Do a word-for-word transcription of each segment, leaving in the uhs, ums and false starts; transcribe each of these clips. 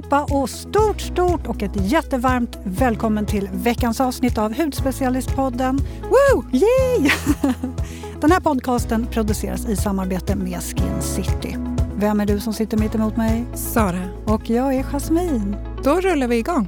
allihopa och stort, stort och ett jättevarmt välkommen till veckans avsnitt av Hudspecialistpodden. Woo! Yay! Den här podcasten produceras i samarbete med Skin City. Vem är du som sitter mitt emot mig? Sara. Och jag är Jasmin. Då rullar vi igång.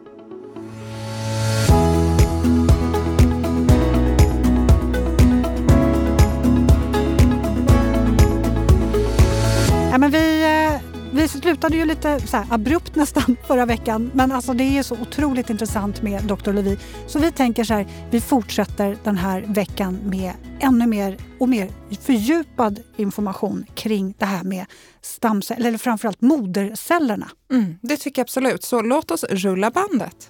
Ja, men vi, vi slutade ju lite så här abrupt nästan förra veckan. Men alltså det är ju så otroligt intressant med doktor Levi. Så vi tänker så här, vi fortsätter den här veckan med ännu mer och mer fördjupad information kring det här med stamceller, eller framförallt modercellerna. Mm, det tycker jag absolut. Så låt oss rulla bandet.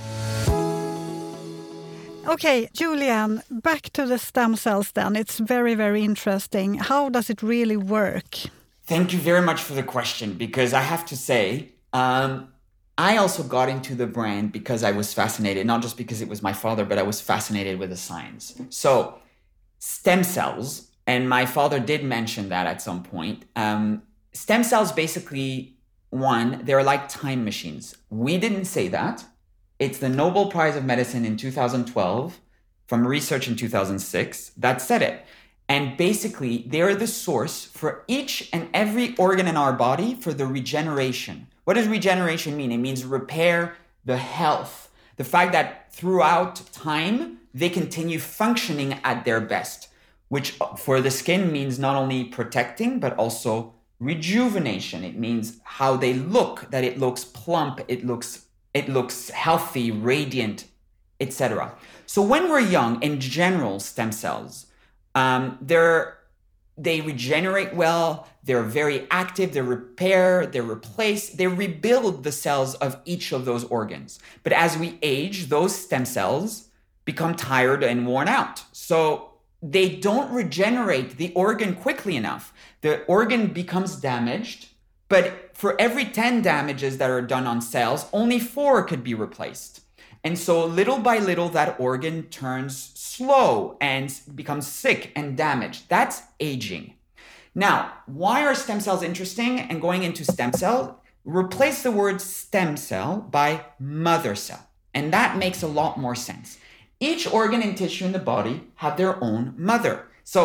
Okay, Julian, back to the stem cells then. It's very, very interesting. How does it really work? Thank you very much for the question, because I have to say, um, I also got into the brand because I was fascinated, not just because it was my father, but I was fascinated with the science. So, stem cells, and my father did mention that at some point. Um, stem cells basically, one, they're like time machines. We didn't say that. It's the Nobel Prize of Medicine in two thousand twelve from research in two thousand six that said it. And basically, they're the source for each and every organ in our body for the regeneration. What does regeneration mean? It means repair the health. The fact that throughout time, they continue functioning at their best, which for the skin means not only protecting, but also rejuvenation. It means how they look, that it looks plump, it looks, it looks healthy, radiant, et cetera. So when we're young, in general, stem cells, Um, they're, they regenerate well, they're very active, they repair, they replace, they rebuild the cells of each of those organs. But as we age, those stem cells become tired and worn out. So they don't regenerate the organ quickly enough. The organ becomes damaged, but for every ten damages that are done on cells, only four could be replaced. And so little by little, that organ turns slow and becomes sick and damaged. That's aging. Now, why are stem cells interesting? And going into stem cell, replace the word stem cell by mother cell. And that makes a lot more sense. Each organ and tissue in the body have their own mother. So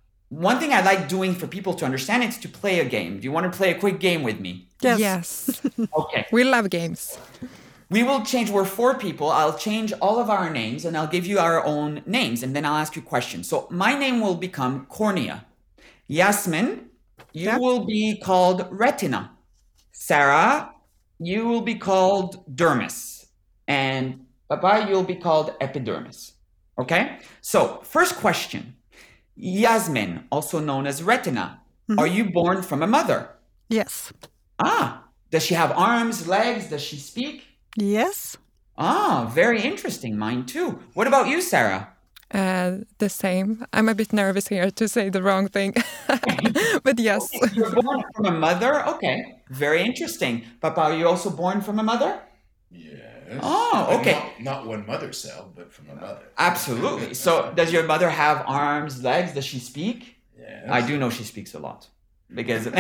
one thing I like doing for people to understand is to play a game. Do you want to play a quick game with me? Yes. Yes. Okay. We love games. We will change, we're four people, I'll change all of our names and I'll give you our own names and then I'll ask you questions. So my name will become cornea. Yasmin, you Yep. will be called retina. Sarah, you will be called dermis. And Baba, you'll be called epidermis. Okay? So first question. Yasmin, also known as retina. Mm-hmm. Are you born from a mother? Yes. Ah, does she have arms, legs? Does she speak? Yes. Ah, very interesting. Mine too. What about you, Sarah? Uh, the same. I'm a bit nervous here to say the wrong thing. But yes. Okay, so you're born from a mother? Okay. Very interesting. Papa, are you also born from a mother? Yes. Oh, okay. Not, not one mother cell, but from a mother. Absolutely. So does your mother have arms, legs? Does she speak? Yes. I do know she speaks a lot. Because...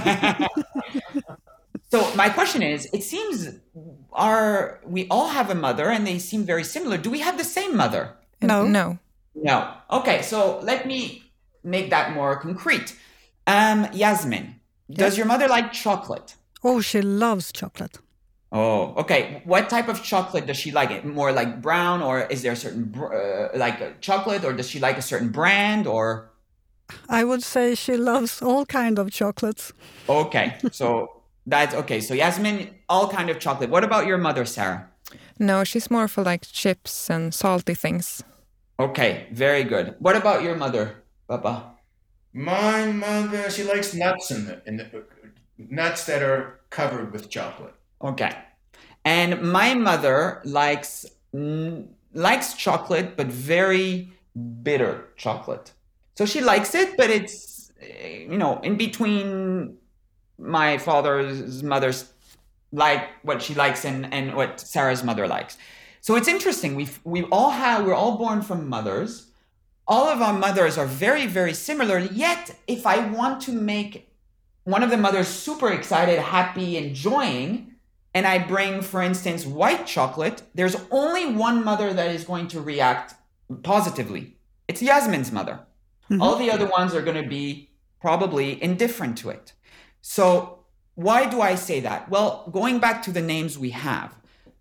So my question is, it seems our we all have a mother and they seem very similar. Do we have the same mother? No. No. No. Okay, so let me make that more concrete. Um, Yasmin, does your mother like chocolate? Oh, she loves chocolate. Oh, okay. What type of chocolate does she like? It more like brown, or is there a certain uh, like a chocolate, or does she like a certain brand, or? I would say she loves all kind of chocolates. Okay, so that's okay. So Yasmin, all kind of chocolate. What about your mother, Sarah? No, she's more for like chips and salty things. Okay, very good. What about your mother, Papa? My mother, she likes nuts in the, in the nuts that are covered with chocolate. Okay. And my mother likes mm, likes chocolate, but very bitter chocolate. So she likes it, but it's, you know, in between my father's mother's like what she likes and, and what Sarah's mother likes. So it's interesting. We we all have we're all born from mothers. All of our mothers are very, very similar. Yet, if I want to make one of the mothers super excited, happy, enjoying, and I bring, for instance, white chocolate, there's only one mother that is going to react positively. It's Yasmin's mother. Mm-hmm. All the other ones are going to be probably indifferent to it. So why do I say that? Well, going back to the names we have,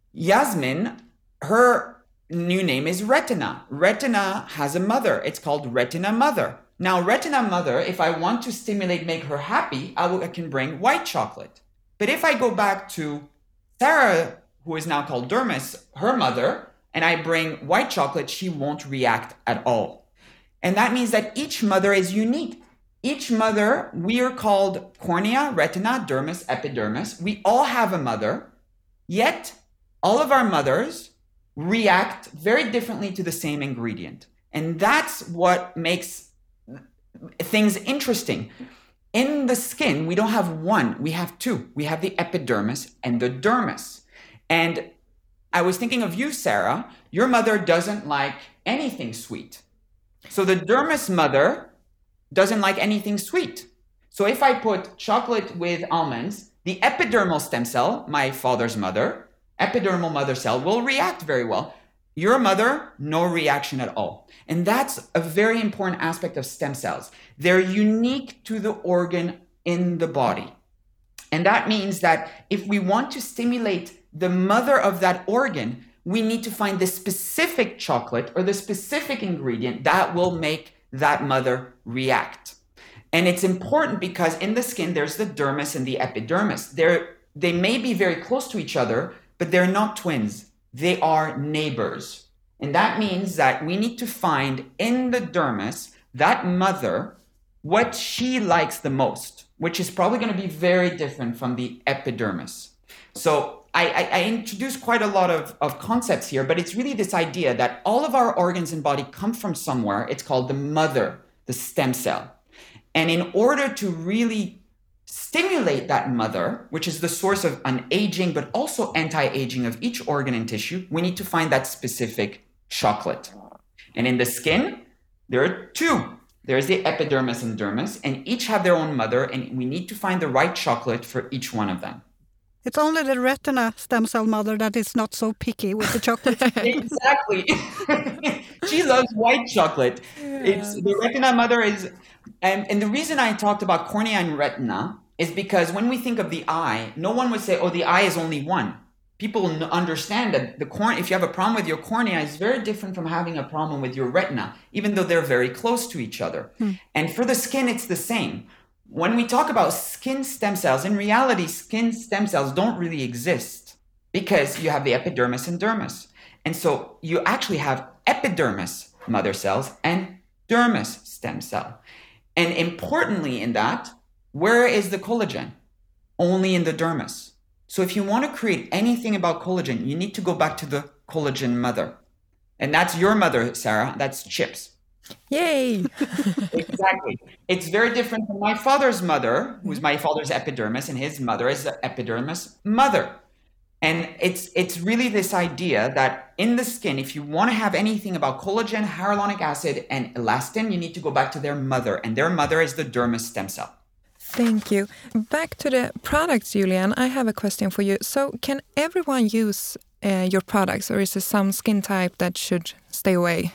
Yasmin, her new name is Retina. Retina has a mother. It's called Retina Mother. Now, Retina Mother, if I want to stimulate, make her happy, I, will, I can bring white chocolate. But if I go back to Sarah, who is now called Dermis, her mother, and I bring white chocolate, she won't react at all. And that means that each mother is unique. Each mother, we are called cornea, retina, dermis, epidermis. We all have a mother, yet all of our mothers react very differently to the same ingredient. And that's what makes things interesting. In the skin, we don't have one, we have two. We have the epidermis and the dermis. And I was thinking of you, Sarah. Your mother doesn't like anything sweet. So the dermis mother doesn't like anything sweet. So if I put chocolate with almonds, the epidermal stem cell, my father's mother, epidermal mother cell, will react very well. Your mother, no reaction at all. And that's a very important aspect of stem cells. They're unique to the organ in the body. And that means that if we want to stimulate the mother of that organ, we need to find the specific chocolate or the specific ingredient that will make that mother react. And it's important because in the skin, there's the dermis and the epidermis. They're, they may be very close to each other, but they're not twins. They are neighbors. And that means that we need to find in the dermis, that mother, what she likes the most, which is probably going to be very different from the epidermis. So I, I, I introduced quite a lot of, of concepts here, but it's really this idea that all of our organs and body come from somewhere. It's called the mother, the stem cell. And in order to really stimulate that mother, which is the source of an aging, but also anti-aging of each organ and tissue, we need to find that specific chocolate. And in the skin, there are two. There's the epidermis and dermis, and each have their own mother, and we need to find the right chocolate for each one of them. It's only the retina stem cell mother that is not so picky with the chocolate. Exactly. She loves white chocolate. Yeah. It's the retina mother is, and, and the reason I talked about cornea and retina is because when we think of the eye, no one would say, oh, the eye is only one. People understand that the cornea, if you have a problem with your cornea, is very different from having a problem with your retina, even though they're very close to each other. Hmm. And for the skin, it's the same. When we talk about skin stem cells, in reality, skin stem cells don't really exist because you have the epidermis and dermis. And so you actually have epidermis mother cells and dermis stem cell. And importantly in that, where is the collagen? Only in the dermis. So if you want to create anything about collagen, you need to go back to the collagen mother. And that's your mother, Sarah. That's Chips. Yay! Exactly. It's very different from my father's mother, who's my father's epidermis, and his mother is the epidermis mother. And it's it's really this idea that in the skin, if you want to have anything about collagen, hyaluronic acid, and elastin, you need to go back to their mother, and their mother is the dermis stem cell. Thank you. Back to the products, Julian, I have a question for you. So can everyone use uh, your products, or is there some skin type that should stay away?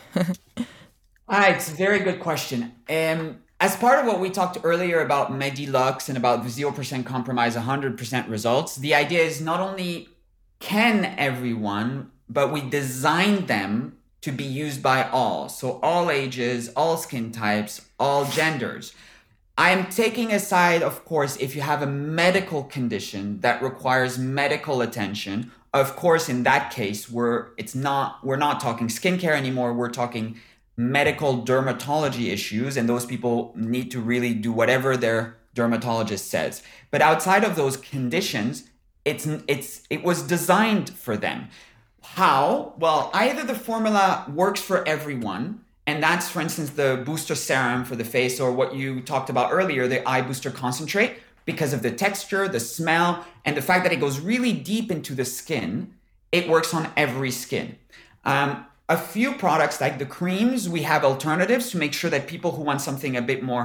Ah, it's a very good question. Um, as part of what we talked earlier about Medilux and about the zero percent compromise, one hundred percent results, the idea is not only can everyone, but we designed them to be used by all. So all ages, all skin types, all genders. I'm taking aside, of course, if you have a medical condition that requires medical attention. Of course, in that case, we're it's not we're not talking skincare anymore. We're talking medical dermatology issues, and those people need to really do whatever their dermatologist says. But outside of those conditions, it's it's it was designed for them. How? Well, either the formula works for everyone, and that's, for instance, the booster serum for the face, or what you talked about earlier, the eye booster concentrate, because of the texture, the smell, and the fact that it goes really deep into the skin. It works on every skin. Um, A few products like the creams, we have alternatives to make sure that people who want something a bit more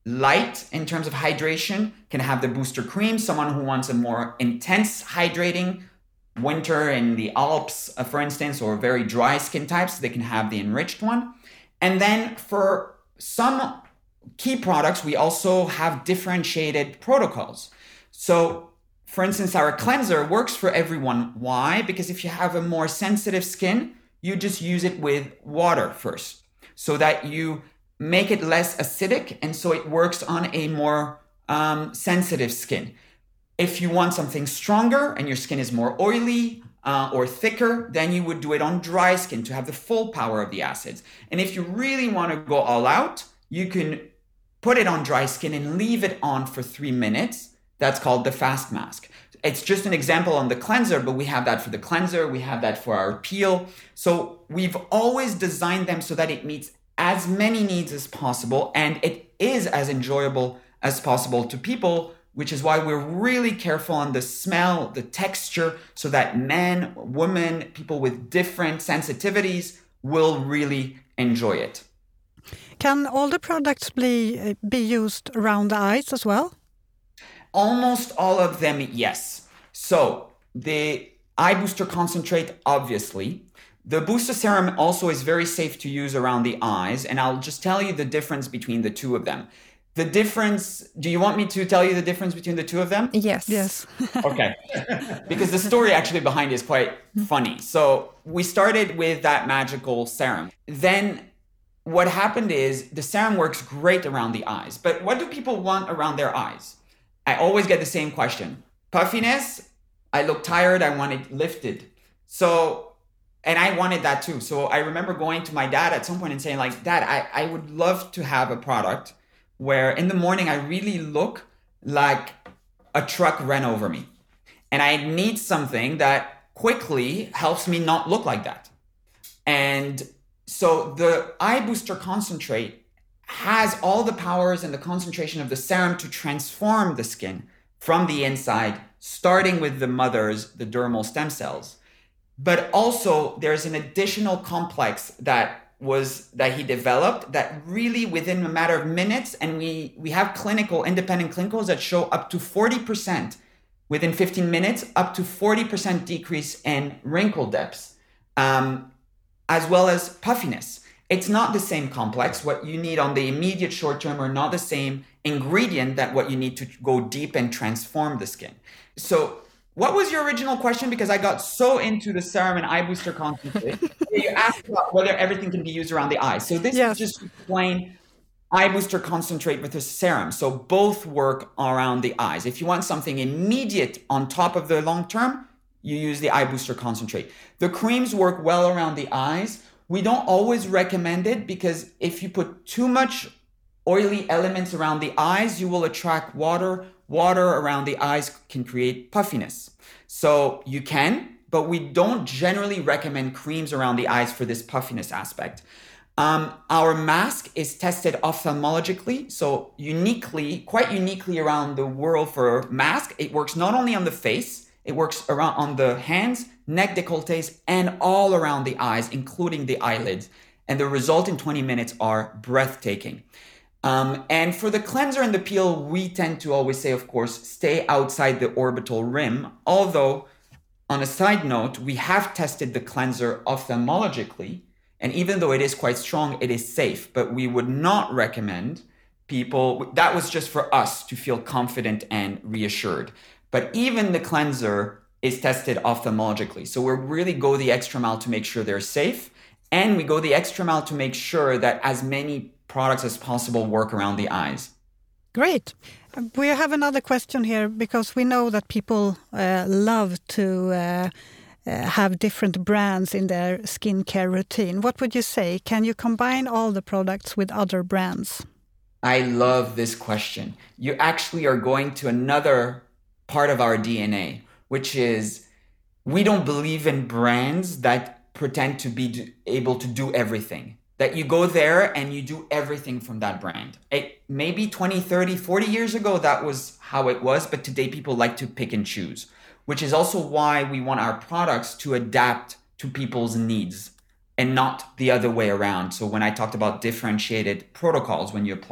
light in terms of hydration can have the booster cream. Someone who wants a more intense hydrating, winter in the Alps, uh, for instance, or very dry skin types, they can have the enriched one. And then for some key products, we also have differentiated protocols. So for instance, our cleanser works for everyone. Why? Because if you have a more sensitive skin, you just use it with water first so that you make it less acidic. And so it works on a more um, sensitive skin. If you want something stronger and your skin is more oily uh, or thicker, then you would do it on dry skin to have the full power of the acids. And if you really want to go all out, you can put it on dry skin and leave it on for three minutes. That's called the fast mask. It's just an example on the cleanser, but we have that for the cleanser. We have that for our peel. So we've always designed them so that it meets as many needs as possible. And it is as enjoyable as possible to people, which is why we're really careful on the smell, the texture, so that men, women, people with different sensitivities will really enjoy it. Can all the products be, be used around the eyes as well? Almost all of them, yes. So the eye booster concentrate, obviously. The booster serum also is very safe to use around the eyes. And I'll just tell you the difference between the two of them. The difference, do you want me to tell you the difference between the two of them? Yes. Yes. Okay. Because the story actually behind it is quite funny. So we started with that magical serum. Then what happened is the serum works great around the eyes. But what do people want around their eyes? I always get the same question. Puffiness, I look tired, I want it lifted. So, and I wanted that too. So I remember going to my dad at some point and saying like, Dad, I, I would love to have a product where in the morning I really look like a truck ran over me. And I need something that quickly helps me not look like that. And so the eye booster concentrate has all the powers and the concentration of the serum to transform the skin from the inside, starting with the mother's, the dermal stem cells. But also there's an additional complex that was that he developed that really within a matter of minutes, and we, we have clinical, independent clinicals that show up to forty percent within fifteen minutes, up to forty percent decrease in wrinkle depths, um, as well as puffiness. It's not the same complex. What you need on the immediate short term are not the same ingredient that what you need to go deep and transform the skin. So what was your original question? Because I got so into the serum and eye booster concentrate. You asked about whether everything can be used around the eye. So this yes. is just to explain eye booster concentrate with the serum. So both work around the eyes. If you want something immediate on top of the long term, you use the eye booster concentrate. The creams work well around the eyes. We don't always recommend it because if you put too much oily elements around the eyes, you will attract water. Water around the eyes can create puffiness. So you can, but we don't generally recommend creams around the eyes for this puffiness aspect. Um, our mask is tested ophthalmologically, so uniquely, quite uniquely around the world for mask. It works not only on the face, it works around on the hands, neck décolletés, and all around the eyes, including the eyelids. And the result in twenty minutes are breathtaking. Um, and for the cleanser and the peel, we tend to always say, of course, stay outside the orbital rim. Although, on a side note, we have tested the cleanser ophthalmologically. And even though it is quite strong, it is safe. But we would not recommend people, that was just for us to feel confident and reassured. But even the cleanser is tested ophthalmologically. So we really go the extra mile to make sure they're safe. And we go the extra mile to make sure that as many products as possible work around the eyes. Great. We have another question here because we know that people uh, love to uh, uh, have different brands in their skincare routine. What would you say? Can you combine all the products with other brands? I love this question. You actually are going to another part of our D N A, which is we don't believe in brands that pretend to be able to do everything. That you go there and you do everything from that brand. It, maybe twenty, thirty, forty years ago, that was how it was. But today people like to pick and choose, which is also why we want our products to adapt to people's needs and not the other way around. So when I talked about differentiated protocols, when you apply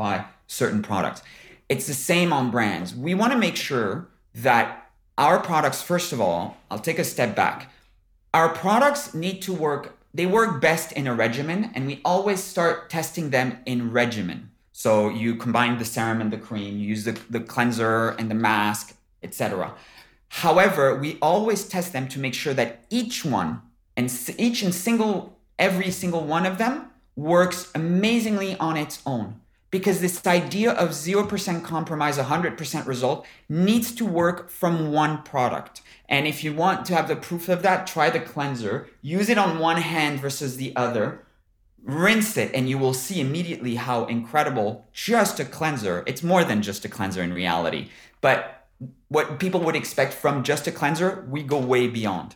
certain products. It's the same on brands. We want to make sure that our products, first of all, I'll take a step back. Our products need to work, they work best in a regimen, and we always start testing them in regimen. So you combine the serum and the cream, you use the, the cleanser and the mask, et cetera. However, we always test them to make sure that each one and each and single, every single one of them works amazingly on its own. Because this idea of zero percent compromise, one hundred percent result needs to work from one product. And if you want to have the proof of that, try the cleanser, use it on one hand versus the other, rinse it, and you will see immediately how incredible just a cleanser, it's more than just a cleanser in reality, but what people would expect from just a cleanser, we go way beyond.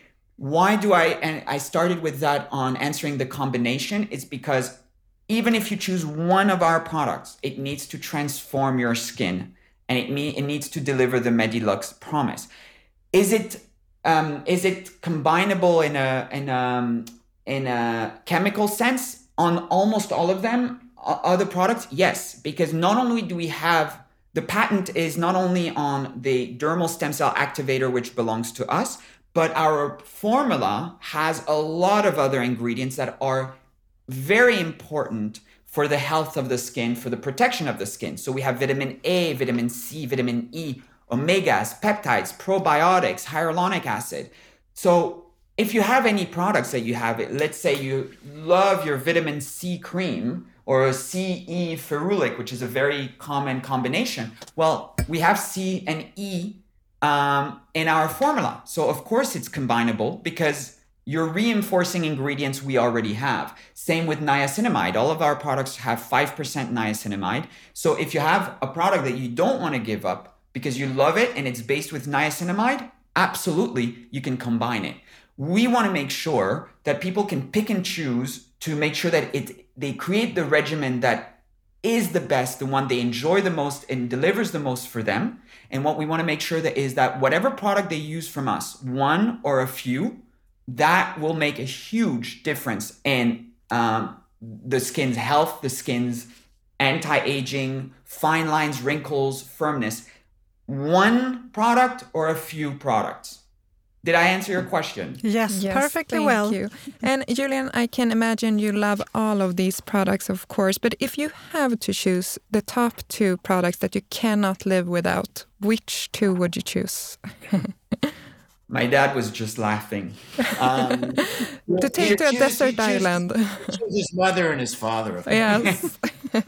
Why do I, and I started with that on answering the combination, it's because even if you choose one of our products, it needs to transform your skin, and it, me- it needs to deliver the Medilux promise. Is it um, is it combinable in a in a in a chemical sense on almost all of them? Other products, yes, because not only do we have the patent is not only on the dermal stem cell activator, which belongs to us, but our formula has a lot of other ingredients that are very important for the health of the skin, for the protection of the skin. So we have vitamin A, vitamin C, vitamin E, omegas, peptides, probiotics, hyaluronic acid. So if you have any products that you have, let's say you love your vitamin C cream or a C E ferulic, which is a very common combination. Well, we have C and E um, in our formula. So of course it's combinable because you're reinforcing ingredients we already have. Same with niacinamide. All of our products have five percent niacinamide. So if you have a product that you don't want to give up because you love it and it's based with niacinamide, absolutely, you can combine it. We want to make sure that people can pick and choose to make sure that it they create the regimen that is the best, the one they enjoy the most and delivers the most for them. And what we want to make sure that is that whatever product they use from us, one or a few, that will make a huge difference in um, the skin's health, the skin's anti-aging, fine lines, wrinkles, firmness. One product or a few products. Did I answer your question? Yes, yes perfectly thank well. You. And Julian, I can imagine you love all of these products, of course, but if you have to choose the top two products that you cannot live without, which two would you choose? My dad was just laughing. Um, to take he to a chooses- desert he chooses- island. he chooses his mother and his father. Of Yes.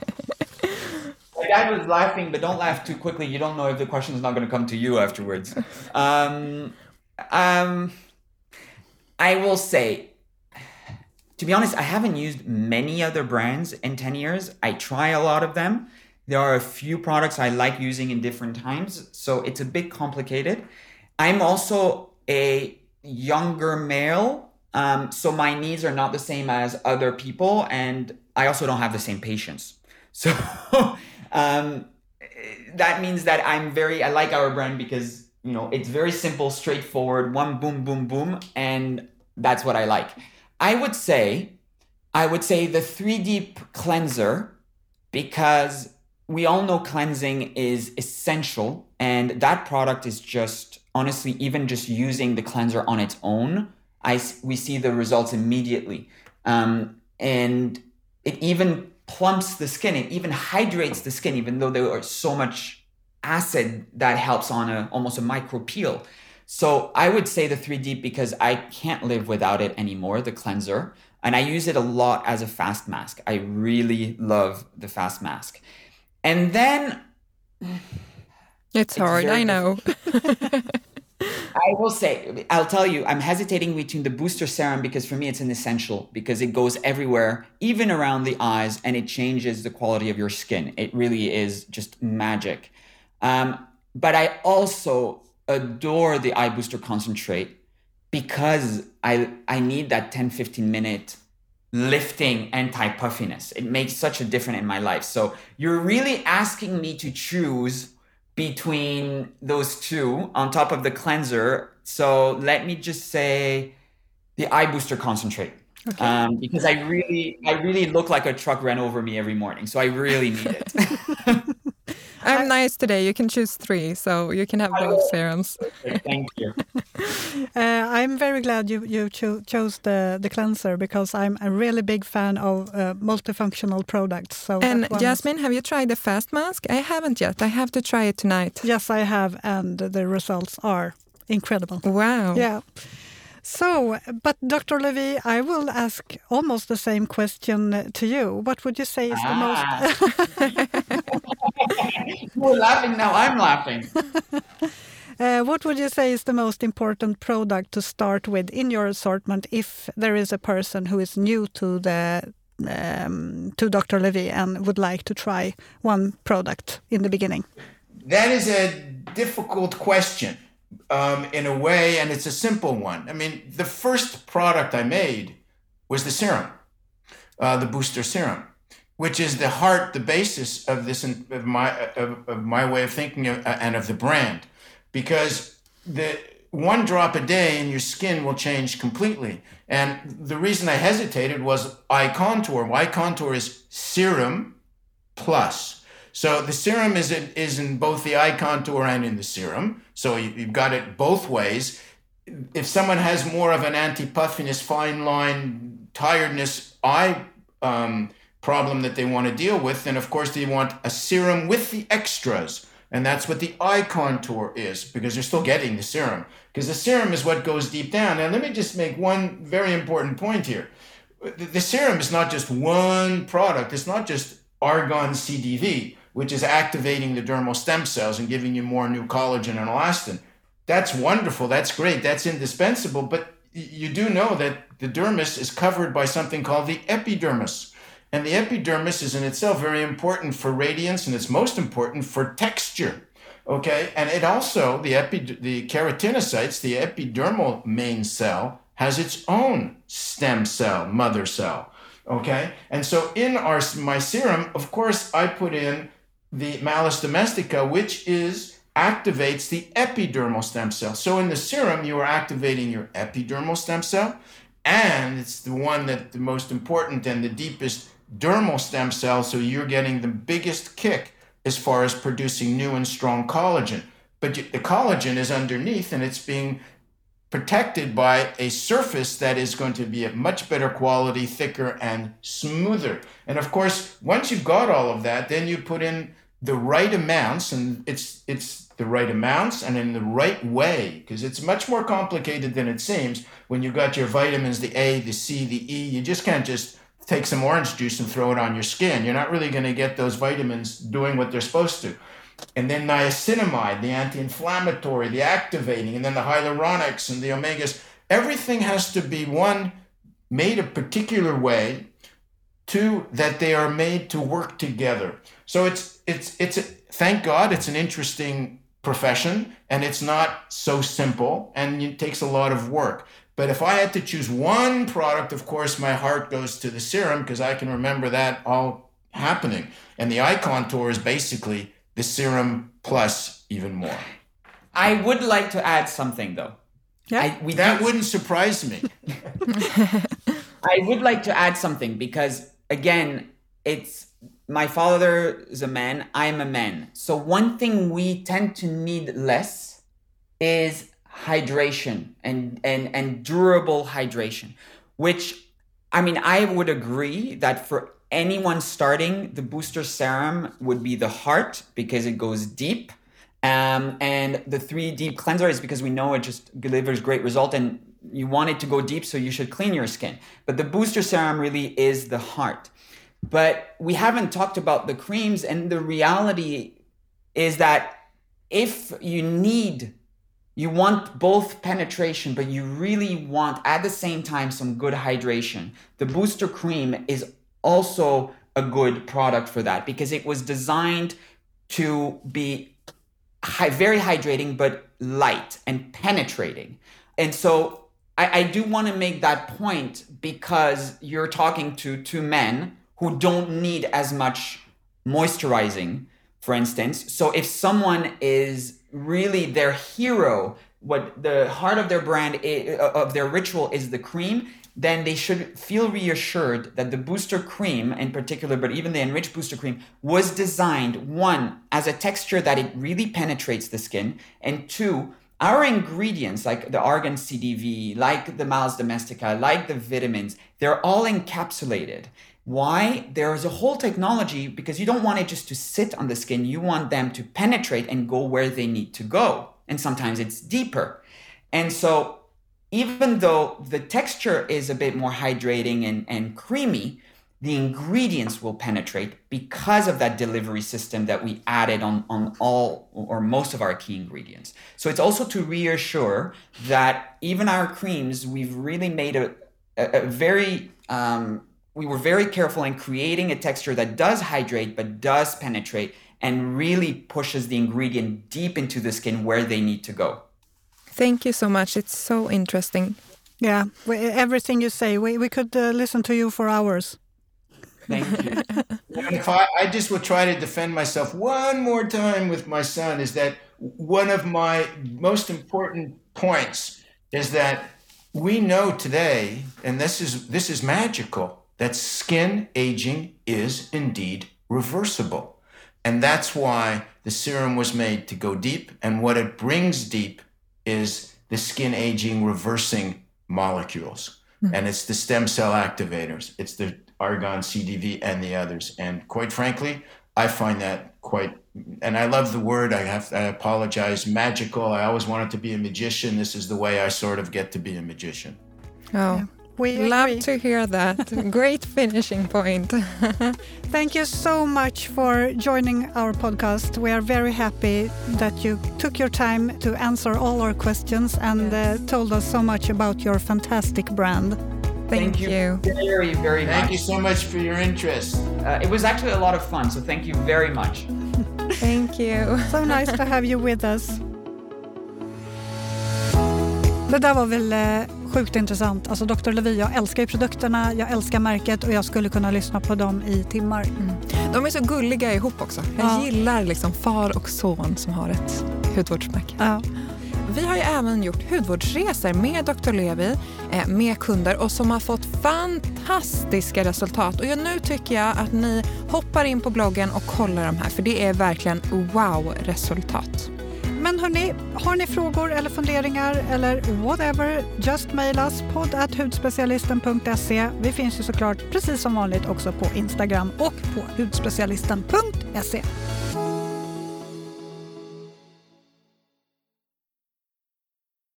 My dad was laughing, but don't laugh too quickly. You don't know if the question is not going to come to you afterwards. Um, um, I will say, to be honest, I haven't used many other brands in ten years. I try a lot of them. There are a few products I like using in different times, so it's a bit complicated. I'm also a younger male, um, so my needs are not the same as other people, and I also don't have the same patience. So um, that means that I'm very, I like our brand because, you know, it's very simple, straightforward, one boom, boom, boom, and that's what I like. I would say, I would say the three deep cleanser, because we all know cleansing is essential, and that product is just, honestly, even just using the cleanser on its own, I, we see the results immediately. Um, and it even plumps the skin, it even hydrates the skin, even though there is so much acid that helps on a almost a micro peel. So I would say the three deep because I can't live without it anymore, the cleanser. And I use it a lot as a fast mask. I really love the fast mask. And then... It's hard, very I know. I will say, I'll tell you, I'm hesitating between the booster serum because for me it's an essential because it goes everywhere, even around the eyes, and it changes the quality of your skin. It really is just magic. Um, but I also adore the eye booster concentrate because I I need that ten, fifteen minute lifting anti-puffiness. It makes such a difference in my life. So you're really asking me to choose between those two on top of the cleanser. So let me just say the eye booster concentrate. Okay. Um, because I really, I really look like a truck ran over me every morning. So I really need it. I'm nice today. You can choose three, so you can have both serums. Thank you. Uh, I'm very glad you you cho- chose the the cleanser because I'm a really big fan of uh, multifunctional products. So And that one is- Jasmine, have you tried the fast mask? I haven't yet. I have to try it tonight. Yes, I have, and the results are incredible. Wow. Yeah. So, but Doctor Levy, I will ask almost the same question to you. What would you say is the most... You're laughing now, I'm laughing. uh, what would you say is the most important product to start with in your assortment if there is a person who is new to the um, to Doctor Levy and would like to try one product in the beginning? That is a difficult question. Um, in a way, and it's a simple one. I mean, the first product I made was the serum, uh, the booster serum, which is the heart, the basis of this, of my, of, of my way of thinking of, uh, and of the brand, because the one drop a day in your skin will change completely. And the reason I hesitated was eye contour. Eye contour is serum plus. So the serum is in, is in both the eye contour and in the serum. So you, you've got it both ways. If someone has more of an anti-puffiness, fine line, tiredness eye um, problem that they want to deal with, then of course they want a serum with the extras. And that's what the eye contour is, because they're still getting the serum. Because the serum is what goes deep down. Now let me just make one very important point here. The, the serum is not just one product. It's not just argon C D V, which is activating the dermal stem cells and giving you more new collagen and elastin. That's wonderful. That's great. That's indispensable. But you do know that the dermis is covered by something called the epidermis. And the epidermis is in itself very important for radiance, and it's most important for texture. Okay? And it also, the, epi, the keratinocytes, the epidermal main cell, has its own stem cell, mother cell. Okay? And so in our my serum, of course, I put in the Malus domestica, which is activates the epidermal stem cell. So in the serum, you are activating your epidermal stem cell, and it's the one that the most important and the deepest dermal stem cell, so you're getting the biggest kick as far as producing new and strong collagen. But the collagen is underneath, and it's being protected by a surface that is going to be of much better quality, thicker and smoother. And of course, once you've got all of that, then you put in the right amounts, and it's it's the right amounts and in the right way, because it's much more complicated than it seems. When you've got your vitamins, the A, the C, the E, you just can't just take some orange juice and throw it on your skin. You're not really going to get those vitamins doing what they're supposed to. And then niacinamide, the anti-inflammatory, the activating, and then the hyaluronics and the omegas. Everything has to be, one, made a particular way, two, that they are made to work together. So it's, it's, it's a, thank God, it's an interesting profession, and it's not so simple, and it takes a lot of work. But if I had to choose one product, of course, my heart goes to the serum, because I can remember that all happening. And the eye contour is basically the serum plus even more. I would like to add something, though. Yeah, I, we that do, wouldn't surprise me. I would like to add something because, again, it's my father is a man, I'm a man. So one thing we tend to need less is hydration and, and, and durable hydration, which, I mean, I would agree that for anyone starting, the booster serum would be the heart because it goes deep. Um, and the three deep cleanser is because we know it just delivers great result and you want it to go deep, so you should clean your skin. But the booster serum really is the heart. But we haven't talked about the creams, and the reality is that if you need, you want both penetration, but you really want at the same time some good hydration, the booster cream is also a good product for that because it was designed to be high, very hydrating, but light and penetrating. And so I, I do want to make that point because you're talking to two men who don't need as much moisturizing, for instance. So if someone is really their hero what the heart of their brand is, of their ritual is the cream, then they should feel reassured that the booster cream in particular, but even the enriched booster cream, was designed, one, as a texture that it really penetrates the skin, and two, our ingredients like the argan C D V, like the Malus domestica, like the vitamins, they're all encapsulated. Why? There is a whole technology because you don't want it just to sit on the skin. You want them to penetrate and go where they need to go. And sometimes it's deeper. And so even though the texture is a bit more hydrating and, and creamy, the ingredients will penetrate because of that delivery system that we added on, on all or most of our key ingredients. So it's also to reassure that even our creams, we've really made a, a, a very, um, we were very careful in creating a texture that does hydrate but does penetrate and really pushes the ingredient deep into the skin where they need to go. Thank you so much. It's so interesting. Yeah, we, everything you say, we, we could uh, listen to you for hours. Thank you. And if I, I just would try to defend myself one more time with my son, is that one of my most important points is that we know today, and this is this is magical, that skin aging is indeed reversible. And that's why the serum was made to go deep. And what it brings deep is the skin aging reversing molecules. Mm-hmm. And it's the stem cell activators. It's the argan C D V and the others. And quite frankly, I find that quite, and I love the word, I have, I apologize, magical. I always wanted to be a magician. This is the way I sort of get to be a magician. Oh, yeah. We love agree. to hear that. Great finishing point. Thank you so much for joining our podcast. We are very happy that you took your time to answer all our questions and yes. uh, told us so much about your fantastic brand. Thank, thank you. you very, very much. Thank you so much for your interest. Uh, it was actually a lot of fun, so thank you very much. Thank you. So nice to have you with us. Det där var väl eh, sjukt intressant. Alltså doktor Levi, jag älskar ju produkterna, jag älskar märket och jag skulle kunna lyssna på dem i timmar. Mm. De är så gulliga ihop också. Jag ja. gillar liksom far och son som har ett hudvårdsmärke. Ja. Vi har ju även gjort hudvårdsresor med doktor Levi, eh, med kunder och som har fått fantastiska resultat. Och nu tycker jag att ni hoppar in på bloggen och kollar de här, för det är verkligen wow-resultat. Men hörni, har ni frågor eller funderingar eller whatever, just mail us podd at hudspecialisten punkt se. Vi finns ju såklart precis som vanligt också på Instagram och på hudspecialisten punkt se.